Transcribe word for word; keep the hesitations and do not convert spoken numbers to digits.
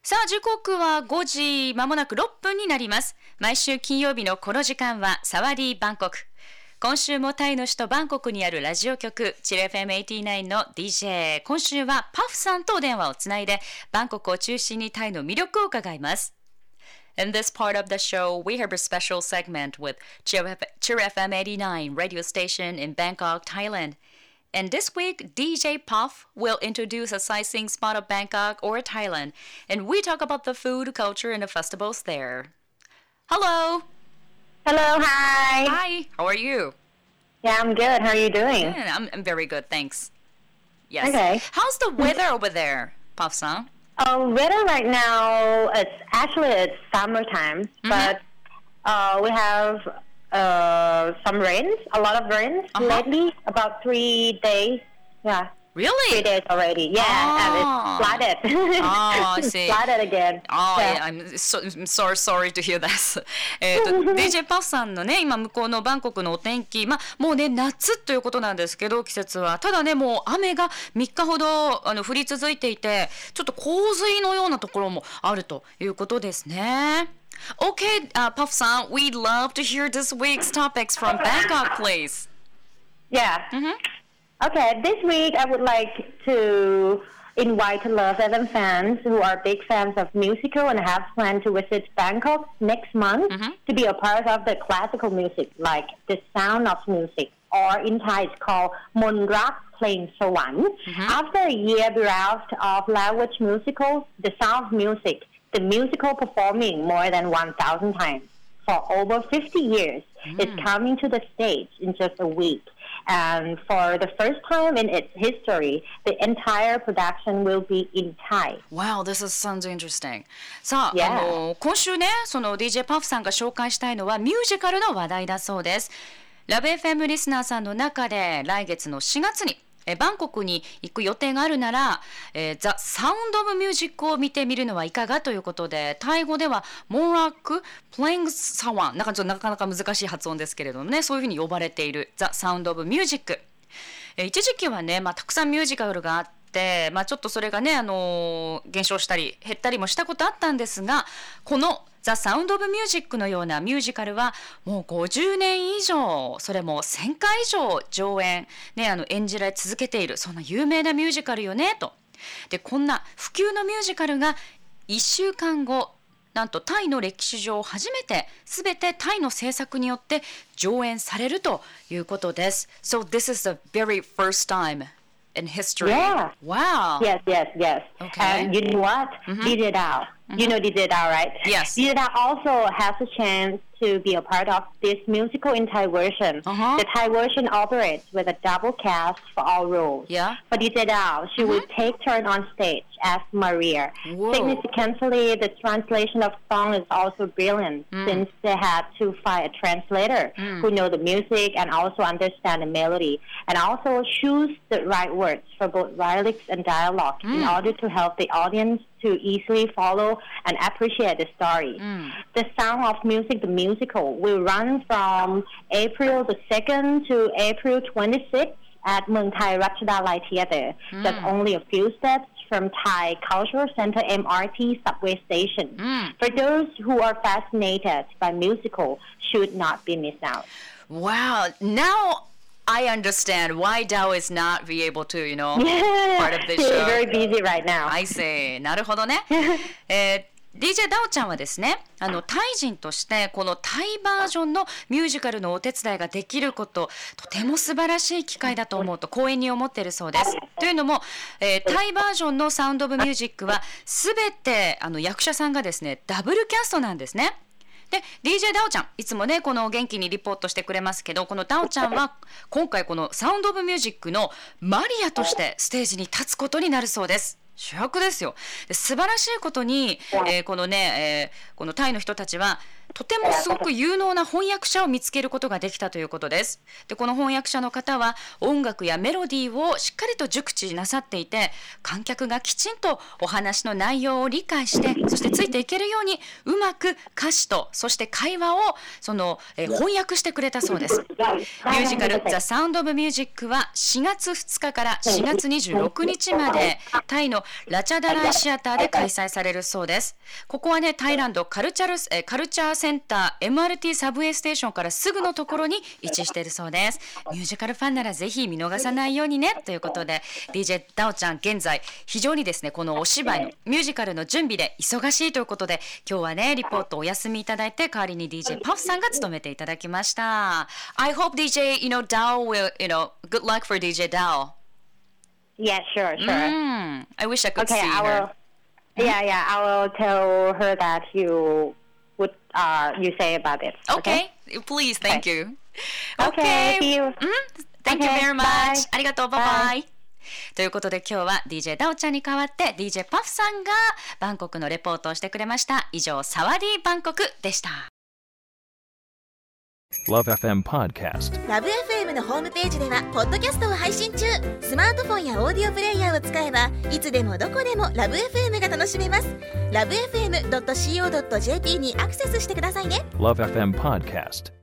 さあ時刻はごじまもなくろっぷんになります。毎週金曜日のこの時間はサワディーバンコク。今週もタイの首都バンコクにあるラジオ局チル エフエムはちじゅうきゅう の ディージェー。今週はパフさんとお電話をつないでバンコクを中心にタイの魅力を伺います。In this part of the show, we have a special segment with Chill エフエムはちじゅうきゅう radio station in Bangkok, Thailand.And this week, D J Puff will introduce a sightseeing spot of Bangkok or Thailand, and we talk about the food, culture, and the festivals there. Hello. Hello, hi. Hi. How are you? Yeah, I'm good. How are you doing? Yeah, I'm, I'm very good, thanks. Yes. Okay. How's the weather over there, Puff-san? Uh, weather right now, it's actually it's summertime, mm-hmm. but uh, we have uh, some rains, a lot of rains uh-huh. lately, about three days. Yeah. Really? Three days already. Yeah, oh. and it's flooded. Oh, I see. Flooded again. Oh, yeah. yeah, I'm so, so sorry to hear that. えっと、ディージェー パフさんのね、今向こうのバンコクのお天気、まあもうね、夏ということなんですけど、季節は。ただね、もう雨がみっかほどあの降り続いていて、ちょっと洪水のようなところもあるということですね。Okay, uh, Puff-san, we'd love to hear this week's topics from Bangkok, please. Yeah. Mm-hmm.Okay, this week I would like to invite Love F M fans who are big fans of musical and have planned to visit Bangkok next month mm-hmm. to be a part of the classical music, like the sound of music, or in Thai it's called Monrak Playing Sawan. Mm-hmm. After a year bereft of language musicals, the sound of music, the musical performing more than one thousand times for over fifty years, mm. is coming to the stage in just a week.And for the first time in its history, the entire production will be in Thai. Wow, this is, sounds interesting. さあ、 yeah. あの今週ね、その ディージェー パフさんが紹介したいのはミュージカルの話題だそうです。ラブ エフエム リスナーさんの中で来月のしがつにえバンコクに行く予定があるなら、えー、ザ・サウンド・オブ・ミュージックを見てみるのはいかがということで、タイ語ではモンラック・プレイング・サワン、なんかちょっとなかなか難しい発音ですけれどもね、そういうふうに呼ばれているザ・サウンド・オブ・ミュージック。えー、一時期はね、まあ、たくさんミュージカルがあって、まあ、ちょっとそれがね、あのー、減少したり減ったりもしたことあったんですが、このザ・サウンド・オブ・ミュージックのようなミュージカルはもうごじゅうねん以上、それもせんかい以上上演、ね、あの演じられ続けている、そんな有名なミュージカルよねと。で、こんな普及のミュージカルがいっしゅうかんご、なんとタイの歴史上初めて全てタイの制作によって上演されるということです。So this is the very first time.In history. Yeah. Wow. Yes, yes, yes. Okay. And you know what? Mm-hmm. D J Dao. Mm-hmm. You know D J Dao, right? Yes. D J Dao also has a chance to be a part of this musical in Thai version. Uh-huh. The Thai version operates with a double cast for all roles. Yeah. For D J Dao, she mm-hmm. will take turn on stage as Maria. Whoa. Significantly, the translation of song is also brilliant mm. since they had to find a translator mm. who know the music and also understand the melody, and also choose the right words for both lyrics and dialogue mm. in order to help the audience to easily follow and appreciate the story. Mm. The Sound of Music, the musical, will run from April the second to April twenty-sixth at Muang Thai Ratchadalai Theatre. Mm. That's only a few steps from Thai Cultural Center M R T subway station. Mm. For those who are fascinated by musical, should not be missed out. Wow. Now...I understand why Dao is not be able to, you know, yeah, part of this she's show. very busy right now. I see. なるほどね。えーディージェー ダオちゃんはですね、あのタイ人としてこのタイバージョンのミュージカルのお手伝いができること、とても素晴らしい機会だと思うと光栄に思っているそうです。というのも、えー、タイバージョンのサウンドオブミュージックはすべてあの役者さんがですねダブルキャストなんですね。で ディージェー ダオちゃんいつもねこの元気にリポートしてくれますけど、このダオちゃんは今回このサウンドオブミュージックのマリアとしてステージに立つことになるそうです。主役ですよ。で素晴らしいことに、えー、このね、えー、このタイの人たちはとてもすごく有能な翻訳者を見つけることができたということです。でこの翻訳者の方は音楽やメロディーをしっかりと熟知なさっていて、観客がきちんとお話の内容を理解して、そしてついていけるようにうまく歌詞とそして会話をその、えー、翻訳してくれたそうです。ミュージカル The Sound of Music はしがつふつかからしがつにじゅうろくにちまでタイのラチャダライシアターで開催されるそうです。ここはね、タイランドカルチャルえカルチャーセンター エムアールティー サブウェイステーションからすぐのところに位置しているそうです。ミュージカルファンならぜひ見逃さないようにねということで、 ディージェー ダオちゃん現在非常にですね、このお芝居のミュージカルの準備で忙しいということで、今日はねリポートお休みいただいて、代わりに ディージェー パフさんが務めていただきました。 I hope ディージェーyou know Dao will you know good luck for ディージェー Dao. Yeah, sure, sure. Mm, I wish I could okay, see I her. will. Yeah, yeah, I will tell her that you would uh you say about it. Okay, please, thank Okay. you. Okay, see you. Mm, thank you Okay, very much. bye. ありがとう、バイバイ。ということで今日は ディージェー ダオちゃんに代わって ディージェー パフさんがバンコクのレポートをしてくれました。以上、サワディーバンコクでした。 Love エフエム Podcast。 ラブ エフエム のホームページではポッドキャストを配信中。スマートフォンやオーディオプレイヤーを使えばいつでもどこでもラブ エフエム が楽しめます。ラブ エフエムドットシーオードットジェーピー にアクセスしてくださいね。 Love エフエム Podcast。